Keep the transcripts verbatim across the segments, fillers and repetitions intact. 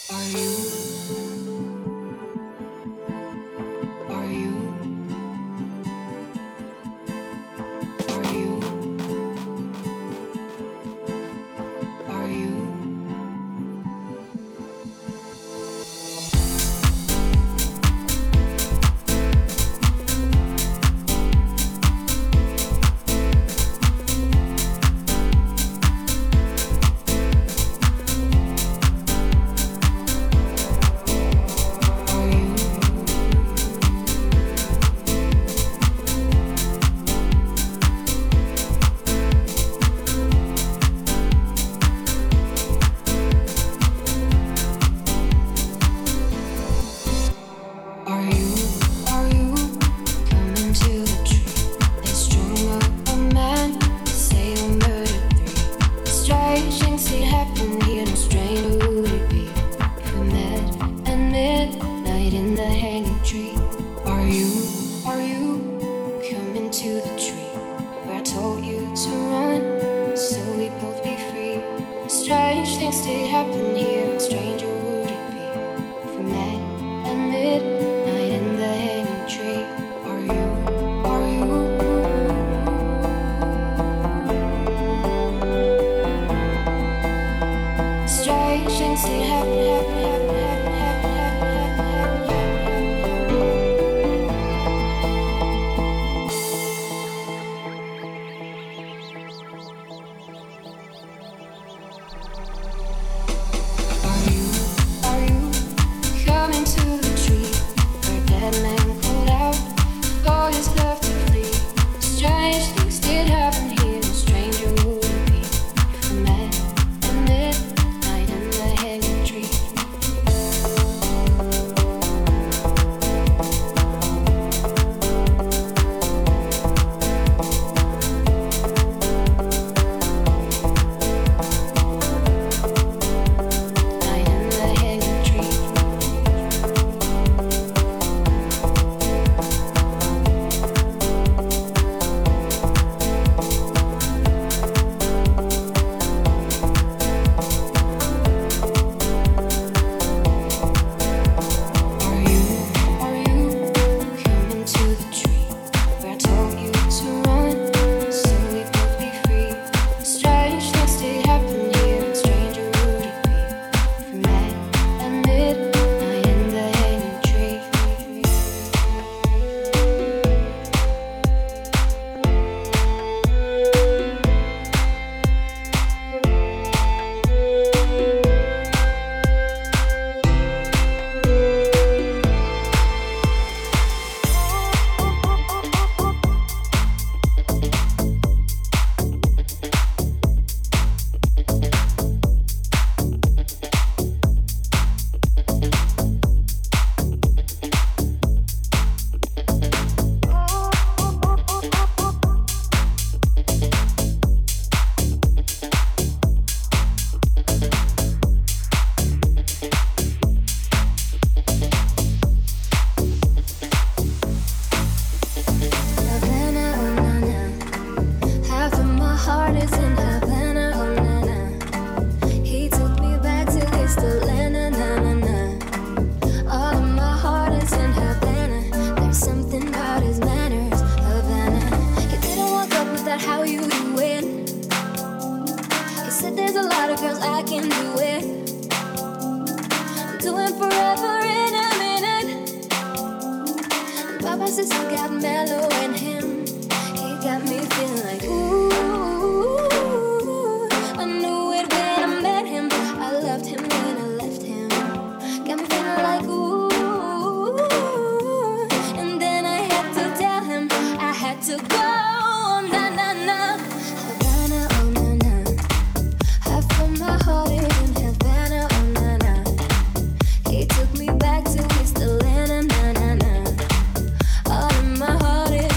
He took me back to East Atlanta, na na na. All in my heart is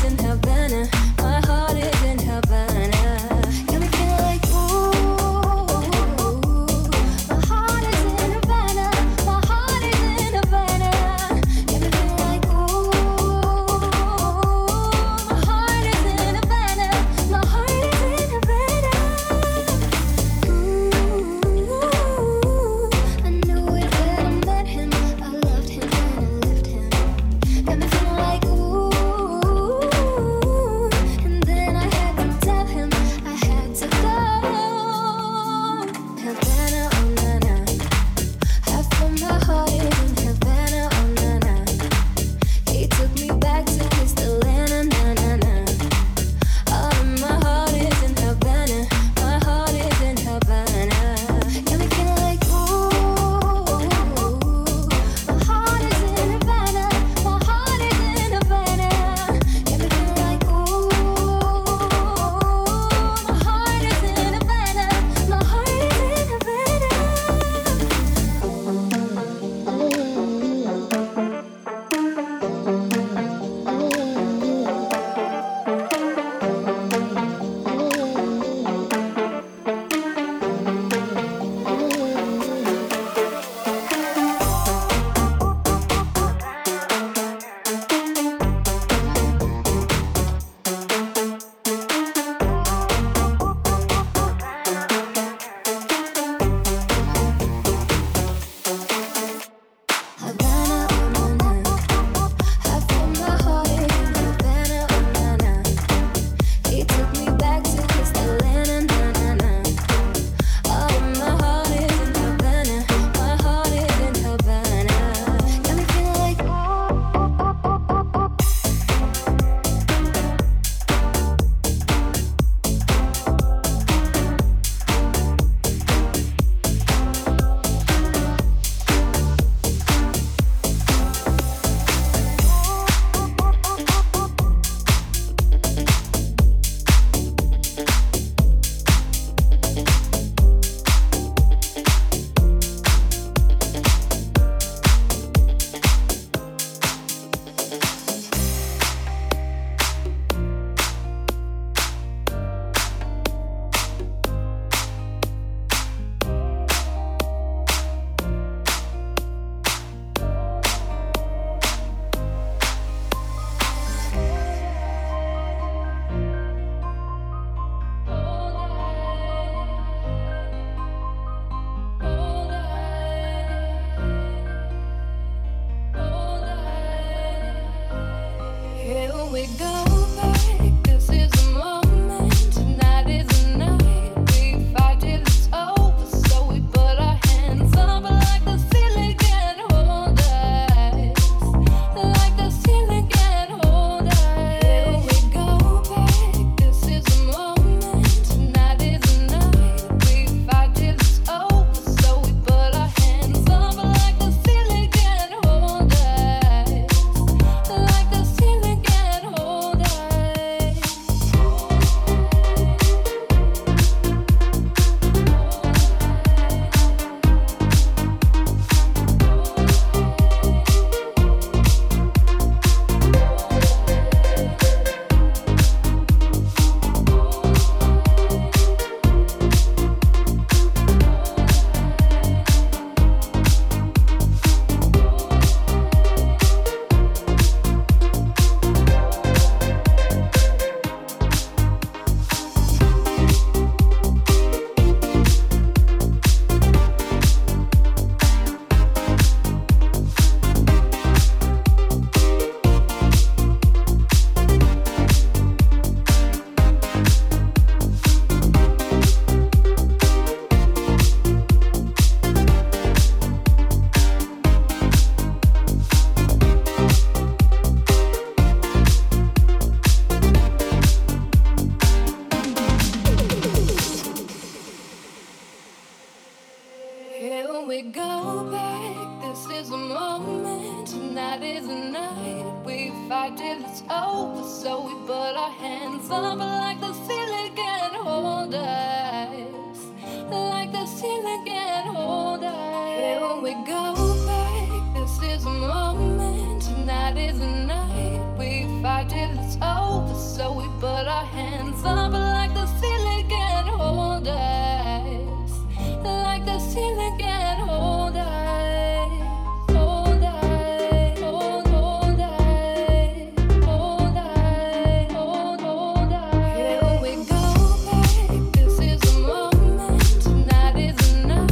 Here we go back. This is a moment. Tonight is a night. We fight till it's over. So we put our hands up like the ceiling can hold us. Like the ceiling can hold us. Here we go back. This is a moment. Tonight is a night. We fight till it's over. So we put our hands up like the ceiling can hold us. Like the ceiling can hold us. Hold us. Hold, hold us. Hold us. Hold, hold us. Here we go back. This is a moment. Tonight is a night.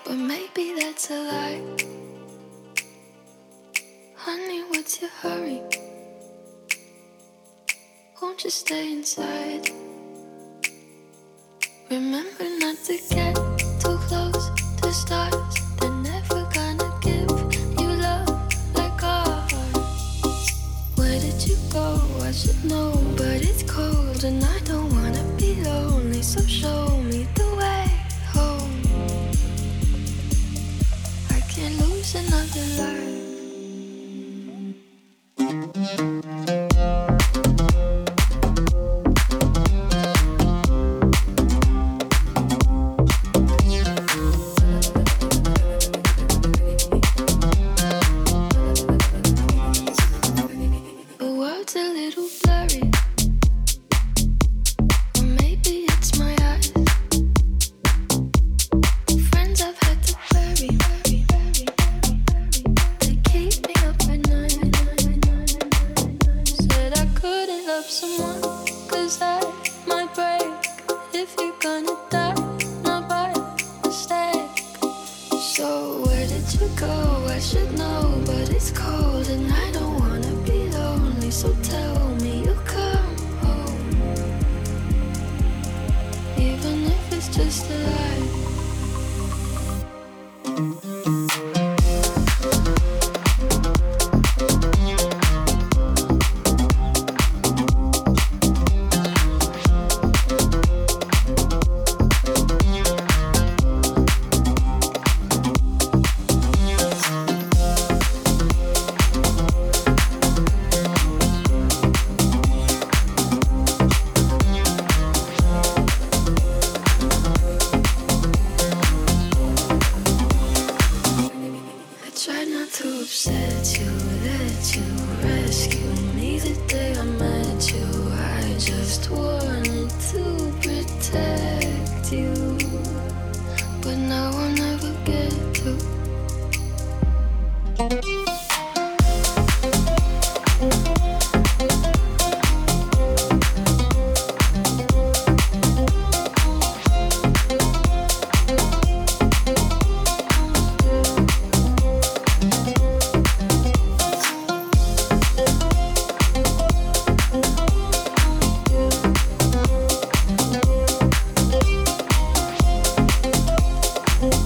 but maybe that's a lie. Honey, what's your hurry? Won't you stay inside? Remember not to get too close to stars. They're never gonna give you love like ours. Where did you go? I should know, but it's cold and I don't wanna be lonely. So show me the way home. I can't lose another life. We'll be right back.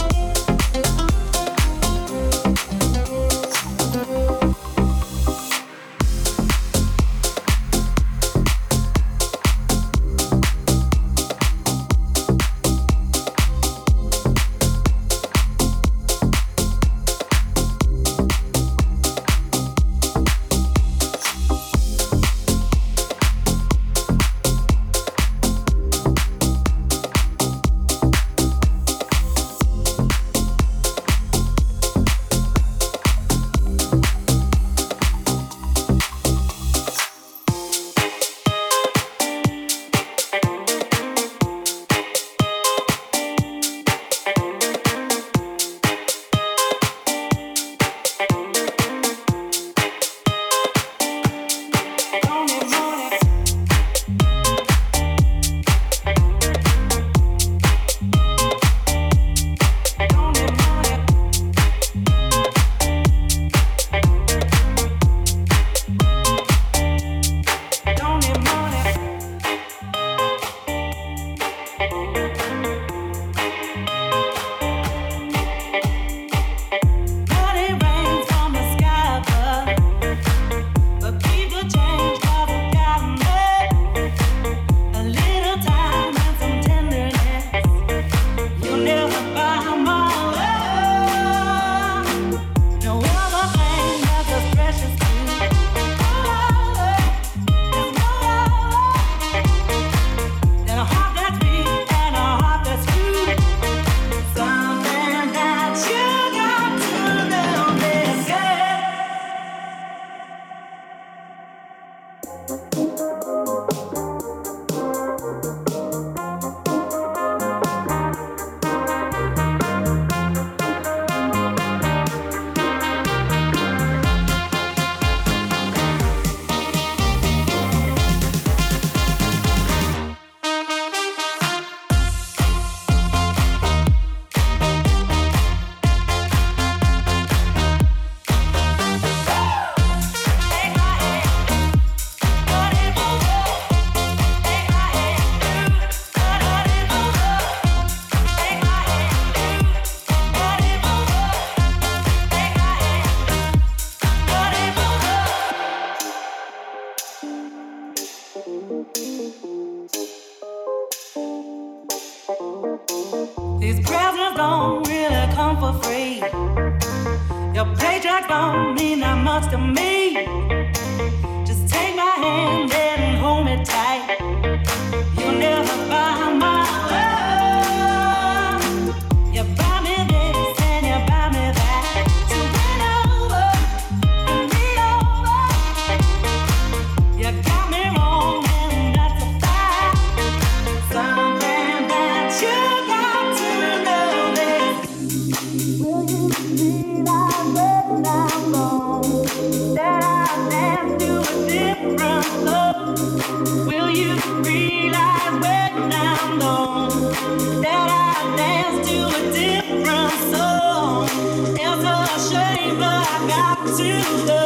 don't mean that much to me. Just take my hand and hold me tight. You'll never buy my love. You buy me this and you buy me that. So bend over and lean over. You got me wrong and that's a fact. Something that you got to know is, will you realize when I'm gone that I dance to a different love? Will you realize when I'm gone that I dance to a different song? It's a shame, but I got to go.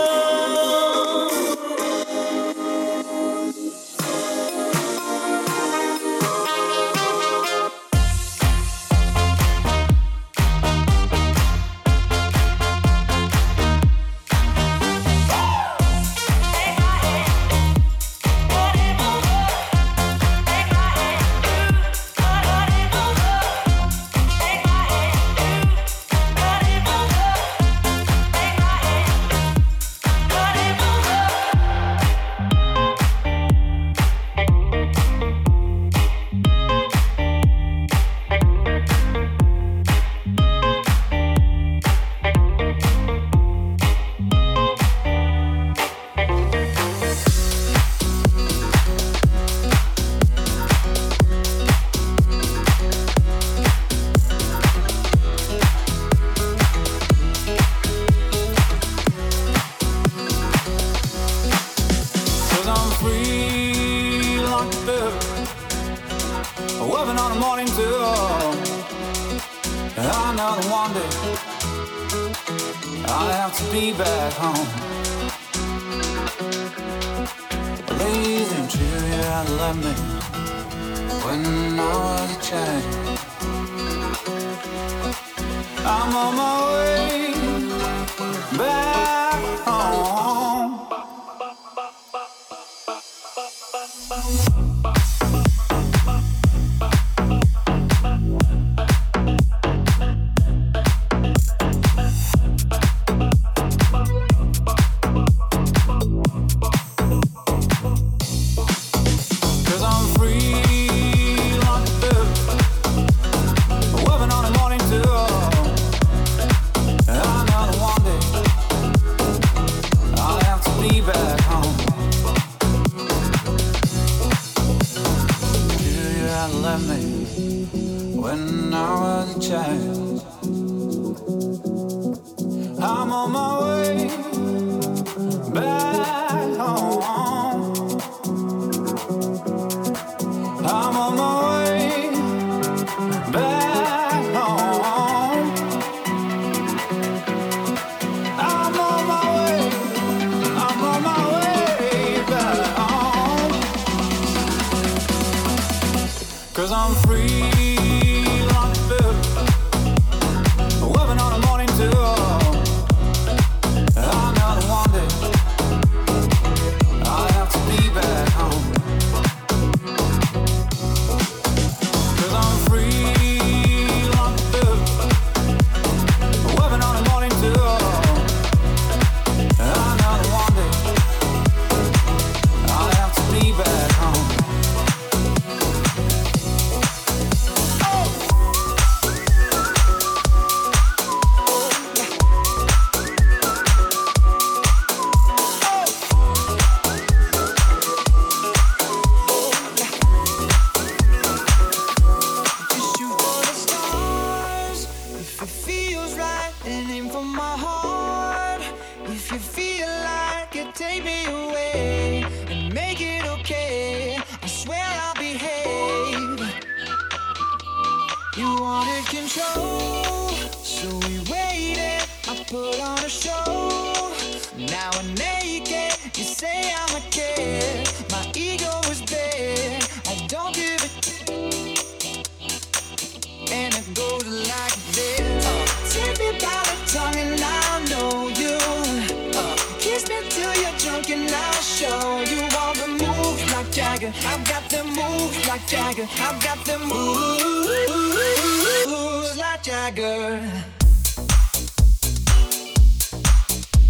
I've got them moves like Jagger. I've got them moves like Jagger.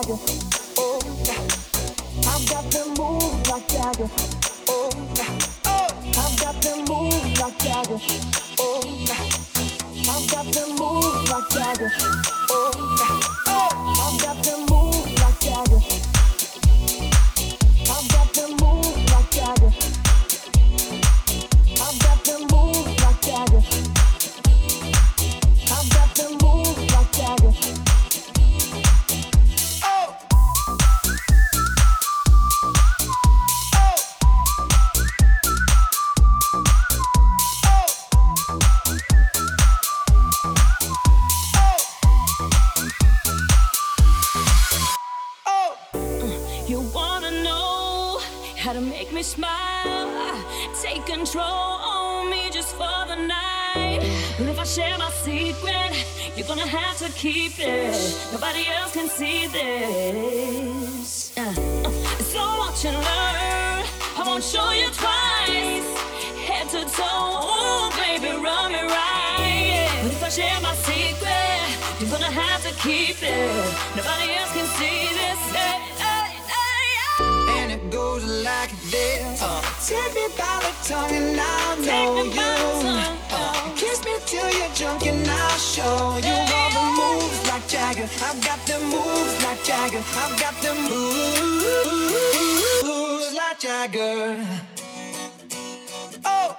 Jagger. Oh, I've got them moves like Jagger. Oh, I've got them moves like Jagger. Oh, I've got them moves like Jagger. Oh, I've got them moves like Jagger. I've got them moves like Jagger. I've got them moves like Jagger. I've got them moves like Jagger. To make me smile, take control on me just for the night. But if I share my secret, you're gonna have to keep it. Nobody else can see this. Uh, uh, so watch and learn. I won't show you twice, head to toe. Ooh, baby, run me right. But if I share my secret, you're gonna have to keep it. Nobody else can see this. Hey, hey, hey, hey. And it goes like this. Uh, take me by the tongue and I'll know you. Uh, kiss me till you're drunk and I'll show you all the moves like Jagger. I've got the moves like Jagger. I've got the moves like Jagger. Oh.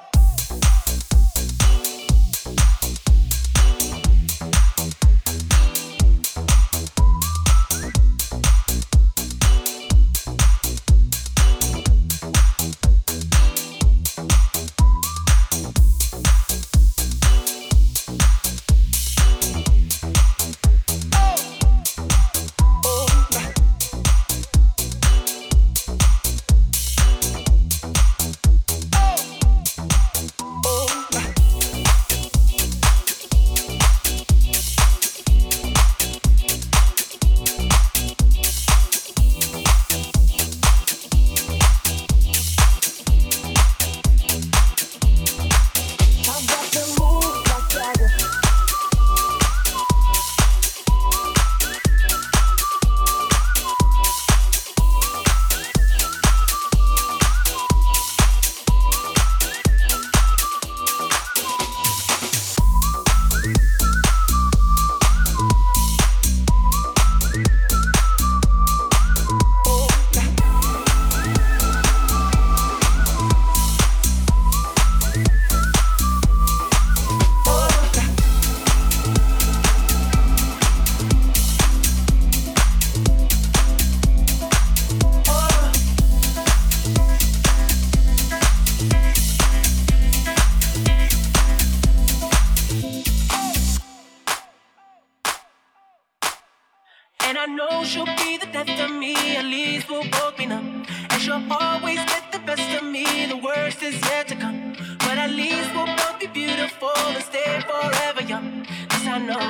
And I know she'll be the death of me, at least we'll both be numb. And she'll always get the best of me, the worst is yet to come. But at least we'll both be beautiful and stay forever young. This I know,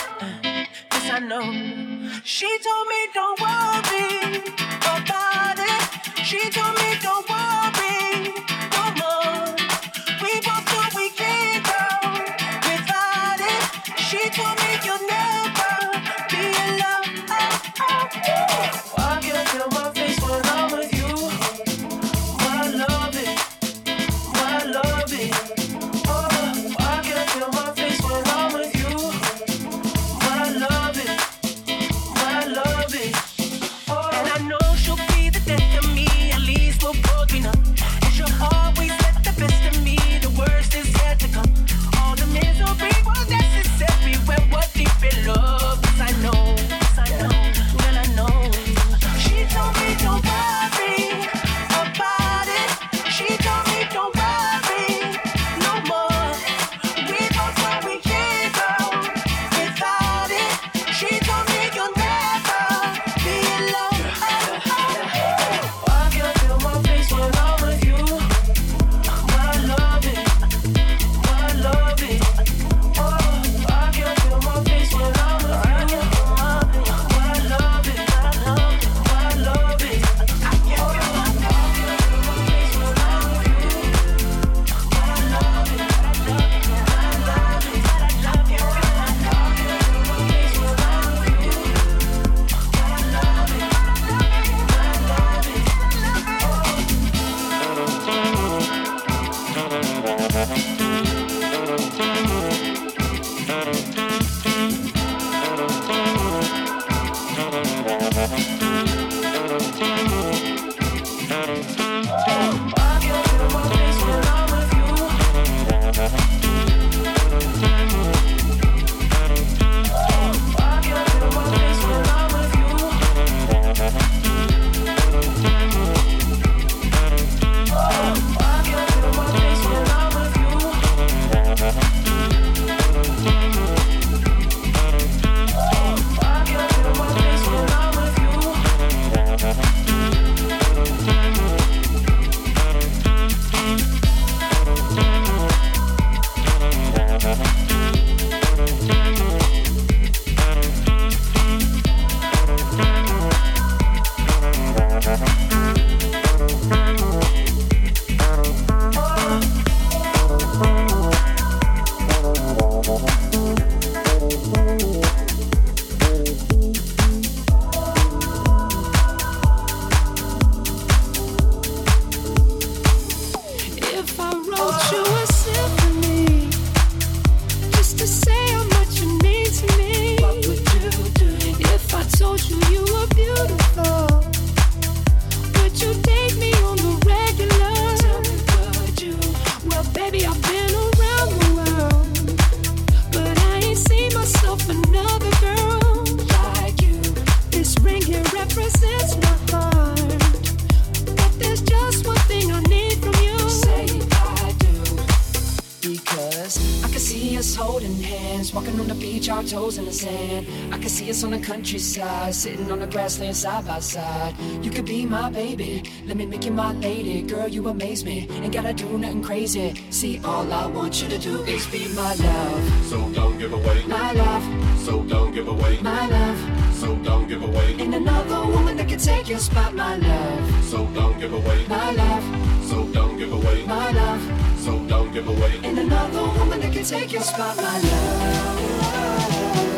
uh, this I know. She told me don't worry about it. She told me don't worry no more. We both know we can't go without it. She told me you'll never be alone. Why can I feel my face when I'm with you? Why I love it, why I love it. Oh, why can I feel my face when I'm with you? Why I love it, why I love it. Oh, and I know she'll be the death of me, at least we'll both be numb. our toes in the sand. I can see us on the countryside, sitting on the grassland side by side. You could be my baby, let me make you my lady. Girl, you amaze me, ain't gotta do nothing crazy. See, all I want you to do is be my love. So don't give away my love. So don't give away my love. So don't give away Ain't another woman that can take your spot, my love. So don't give away my love. So don't give away my love. So don't give away Ain't another woman that can take your spot, my love.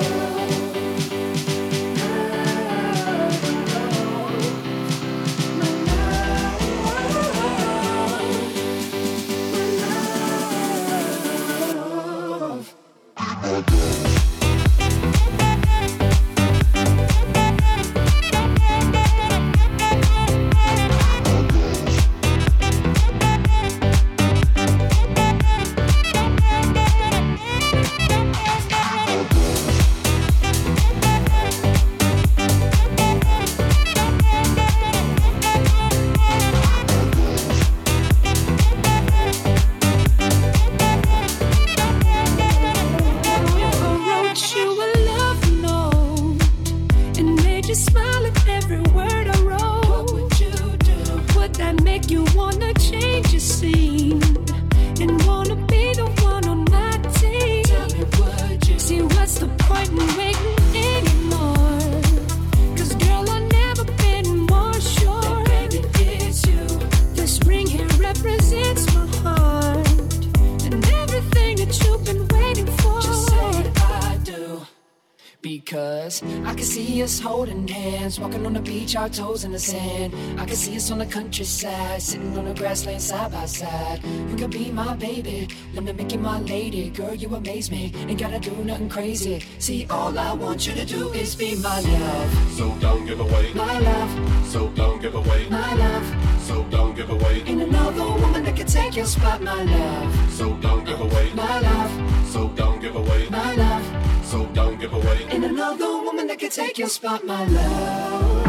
Walking on the beach, our toes in the sand. I can see us on the countryside, sitting on the grassland side by side. You could be my baby, let me make you my lady. Girl, you amaze me, ain't gotta do nothing crazy. See, all I want you to do is be my love. So don't give away my love. So don't give away my love. So don't give away Ain't another woman that can take your spot, my love. So don't give away my love. So don't give away my love. So don't give away Ain't another woman that can take your spot, my love.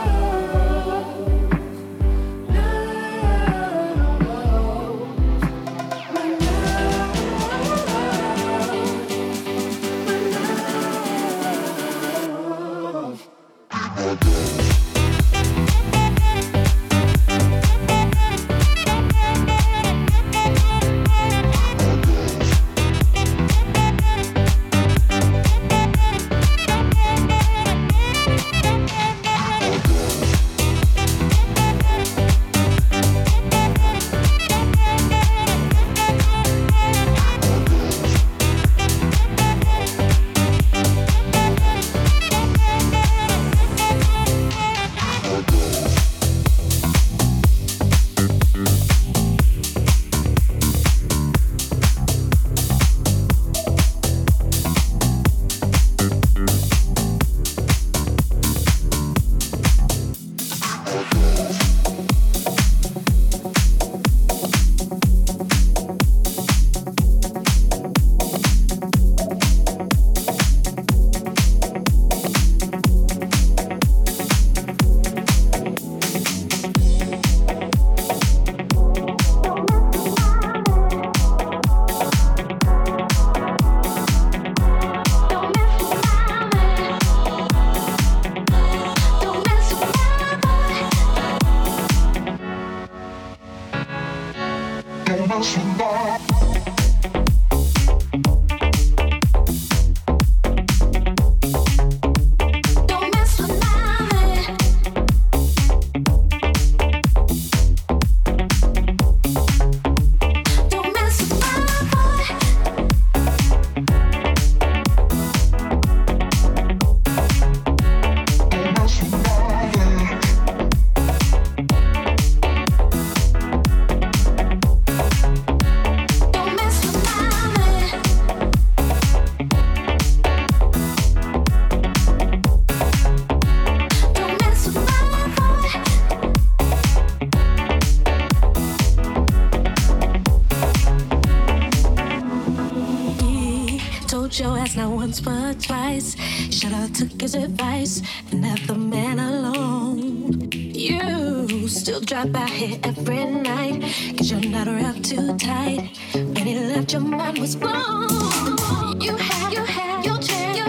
Your ass not once but twice. Should've took his advice and left the man alone. You still drop by here every night, cause you're not wrapped too tight. When he left, your mind was blown. You had, you had your chance.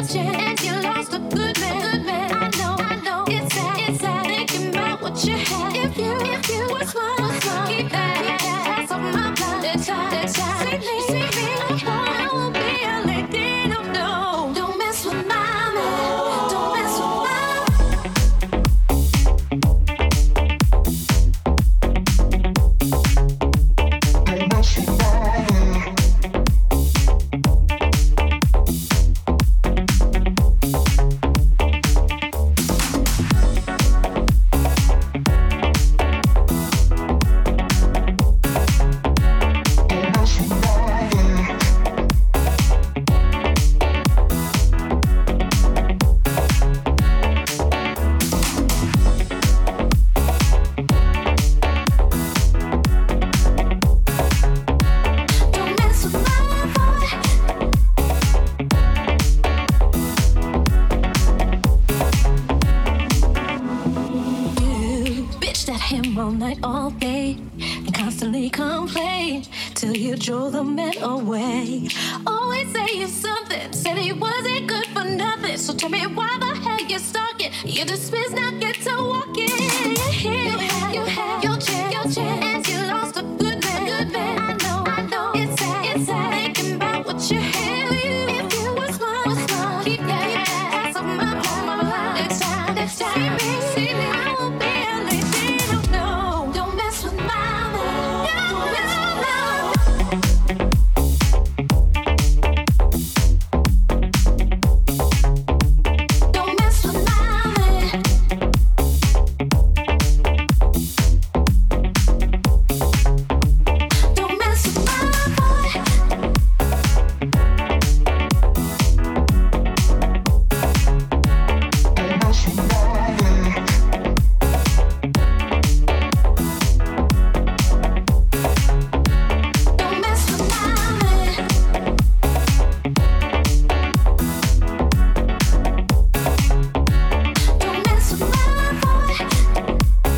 him all night, all day, and constantly complain till you drove the man away. Always saying something, said he wasn't good for nothing. So tell me why the hell you're stalking? You dismiss, now get to walking. You had, you had your chance, your chance, and you lost a good man, a good man. I know, I know, it's sad, it's sad. Thinking about what you had. If you was mine, was mine, keep that ass off my mind, my mind. Next time, next time, see me, see me, I won't be a lady. No, don't mess with my love. Don't mess with my love. Don't mess with my man. Don't mess with my boy. Don't mess with my man. Don't mess with my boy.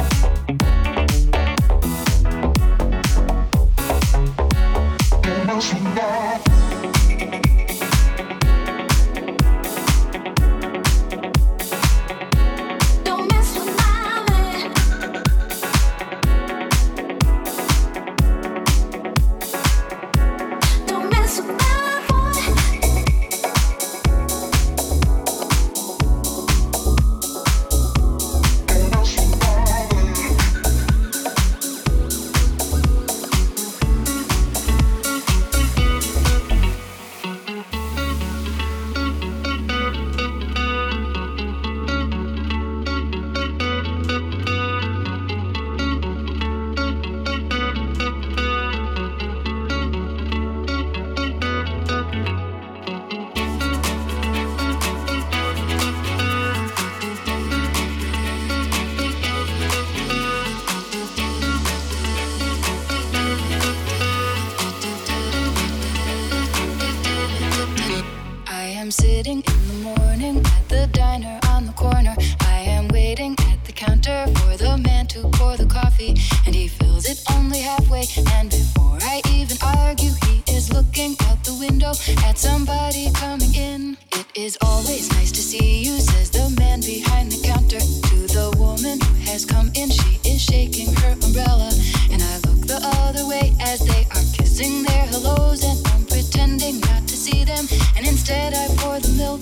Don't mess with my man. Don't mess with my boy. I am sitting in the morning at the diner on the corner. I am waiting at the counter for the man to pour the coffee, and he fills it only halfway. And before I even argue, he is looking out the window at somebody coming in. It is always nice to see you, says the man behind the counter to the woman who has come in. She is shaking her umbrella, and I look the other way as they are kissing their hellos, and I'm pretending not to see them, and instead I pour the milk.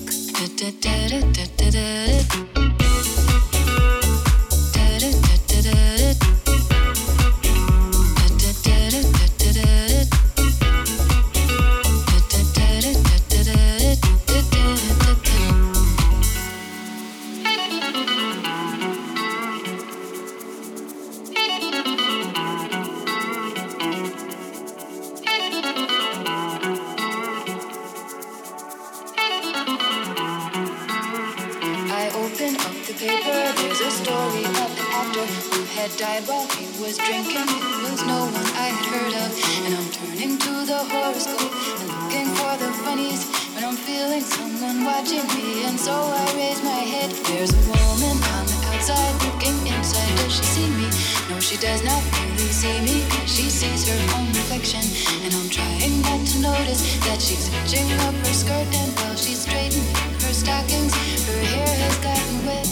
I open up the paper, there's a story of an actor who had died while he was drinking. It was no one I had heard of, and I'm turning to the horoscope and looking for the funnies when I'm feeling someone watching me, and so I raise my head. There's a woman on the outside looking inside. Does she see me? No, she does not really see me, 'cause she sees her own reflection, and I'm trying not to notice that she's hitching up her skirt, and while she's straightening her stockings, her hair has gotten wet.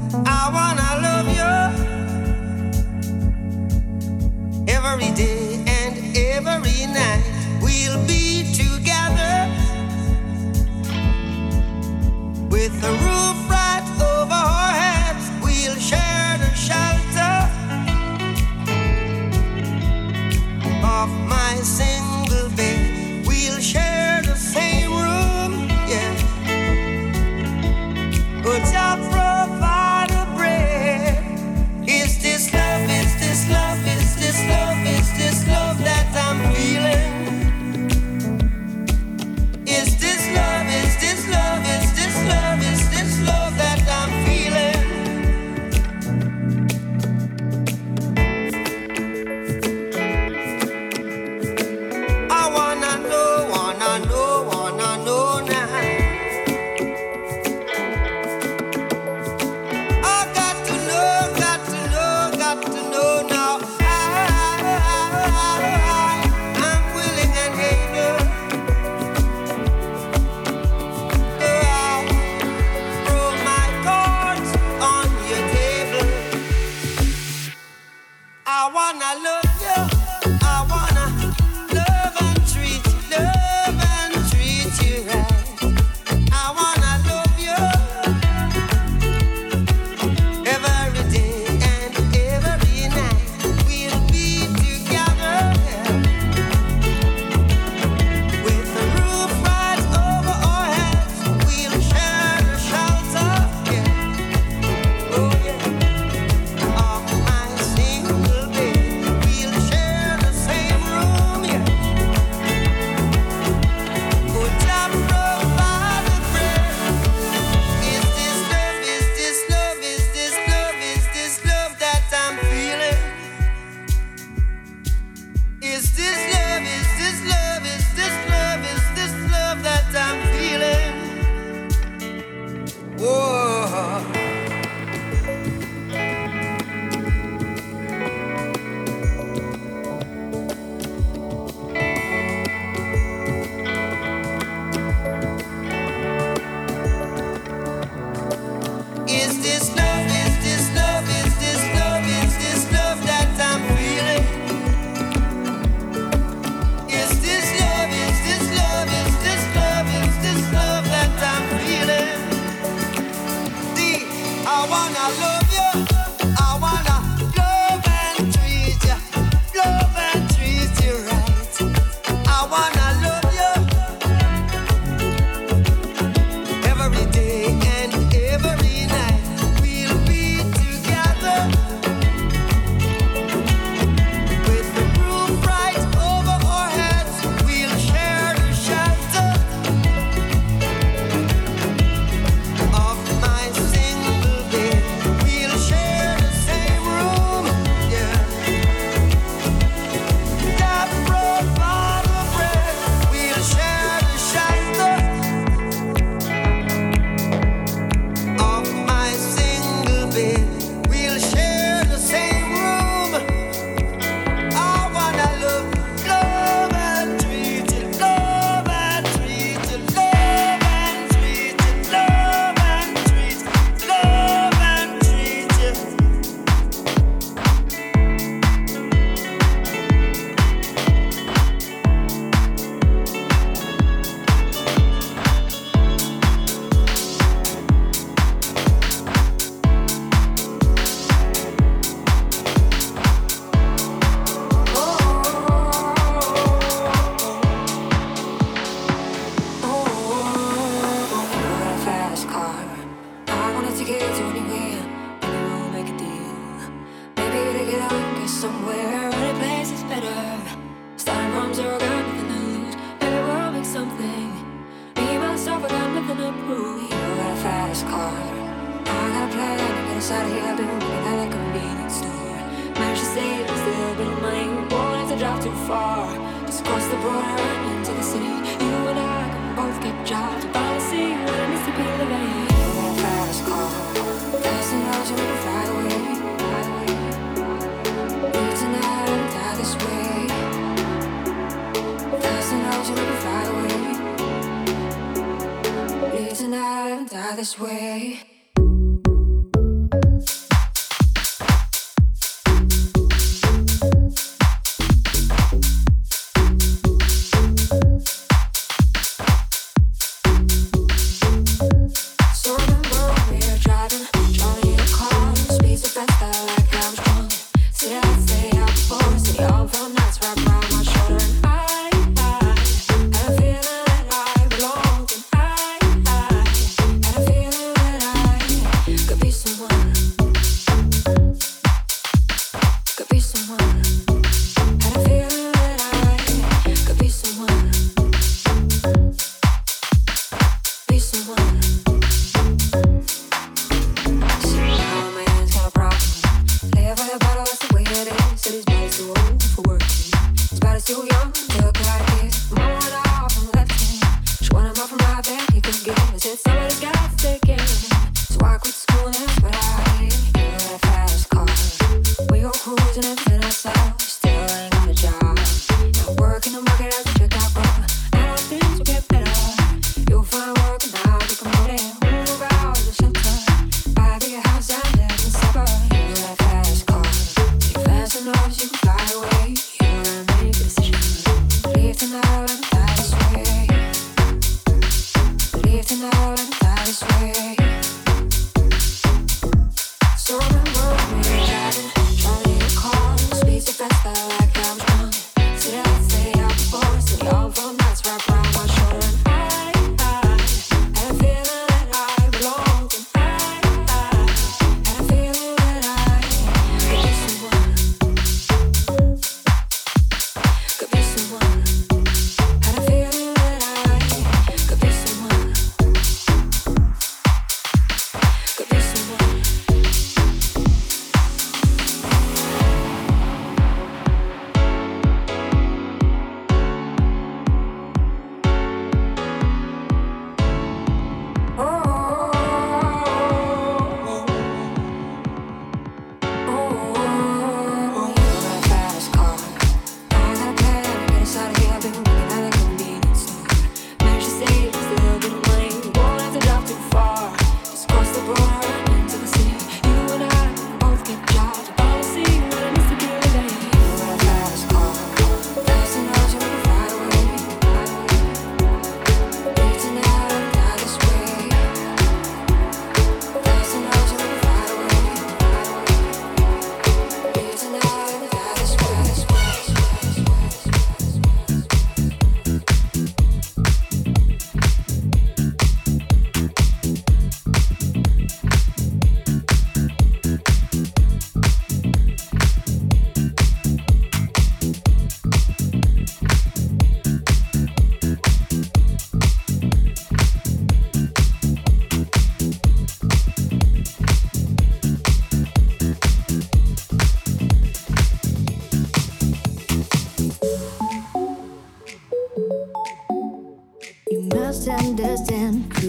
I wanna love you every day and every night. We'll be together with the roof right over our heads. We'll share the shelter of my single bed. We'll share the same room, yeah. But I'll provide a bread. Is this love, is this love, is this love, is this love that I'm feeling? Is this love, is this love, is this love, is this love that I'm feeling? I wanna know, wanna know, wanna know now. I got to know, got to know, got to know now. I, I, I'm willing and able. I'll throw my cards on your table. I wanna love you. I wanna love and treat, love and treat you right. I wanna love you every day and every night. We'll be together, yeah, with the roof right over our heads. We'll share the shelter, yeah, oh yeah, of my single bed. We'll share the same room, yeah. Put up provide the bread. Is this love, is this love, is this love, is this love that I'm feeling? Is this love, is this love, is this love, is this love that I'm feeling? Whoa. Is this love, is this love, is this love, is this love that I'm feeling? Is this love, is this love, is this love, is this love that I'm feeling? See, I wanna love you, I wanna love and treat you, love and treat you right. I wanna love you every day and every night. We'll be together with the roof right over our heads. We'll share the shelter of my single bed. We'll share the same room, yeah. That provide the bread. We'll share the shelter of my single bed. We'll share the same room. I wanna love, love and treat you, love and treat you, love and treat you, love and treat you, love and treat you. Fast car. I wanna take it to anywhere. Maybe we'll make a deal. Maybe to get out and get somewhere. Any place is better. Starting from zero, got nothing to lose. Maybe we'll make something. Me myself, I got nothing to prove. You got a fast car. I got a plan to get us out of here. I've been working at a convenience store. Managed to save just a little bit of money. Won't have to drive too far. Just cross the border and into the city. You and I can both get jobs. Finally see what it means to be living. You got a fast car. Fast enough so we can fly away. Live tonight and die this way. Fast enough so we can fly away. Live tonight and die this way.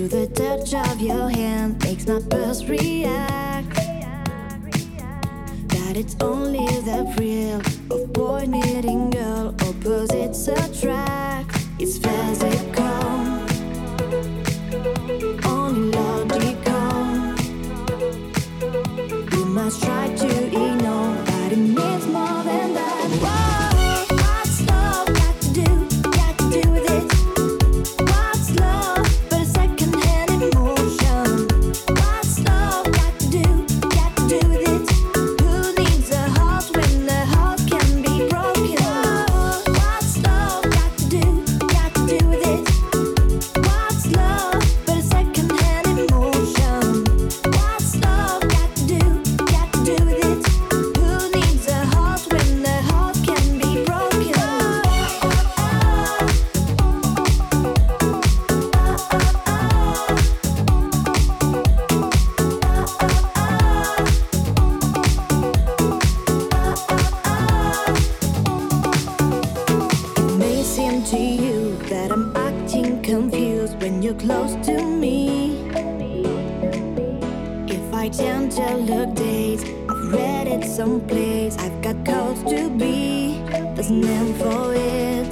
the touch of your hand makes my pulse react. That it's only the thrill of boy meeting girl, opposites attract. It's physical, only logical. You must try to ignore that it means more than that. Whoa, what's love got to do, got to do with it? What's love but a second-hand emotion? What's love got to do, got to do with it? Who needs a heart when the heart can be broken? Whoa, what's love got to do, got to do with it? What's love but a second-hand emotion? What's love got to do, got to do with it? Who needs a heart when the heart can be broken? It may seem to you that I'm acting confused when you're close to me. If I tend to look days, I've read it someplace. I've got cause to be, there's a name for it.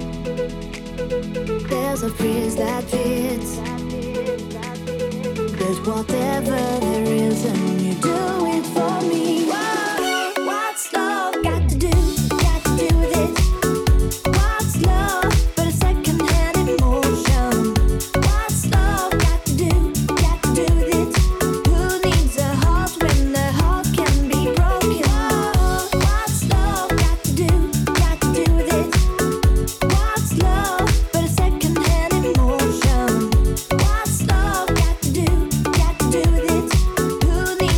There's a phrase that fits. There's whatever there is, and you do it for me. Whoa, what's love got to do, got to do with it? What's love but a second-hand emotion? What's love got to do, got to do with it? Who needs a heart when the heart can be broken? Whoa, what's love got to do, got to do with it? What's love but a second-hand emotion? What's love got to do, got to do with it? Who needs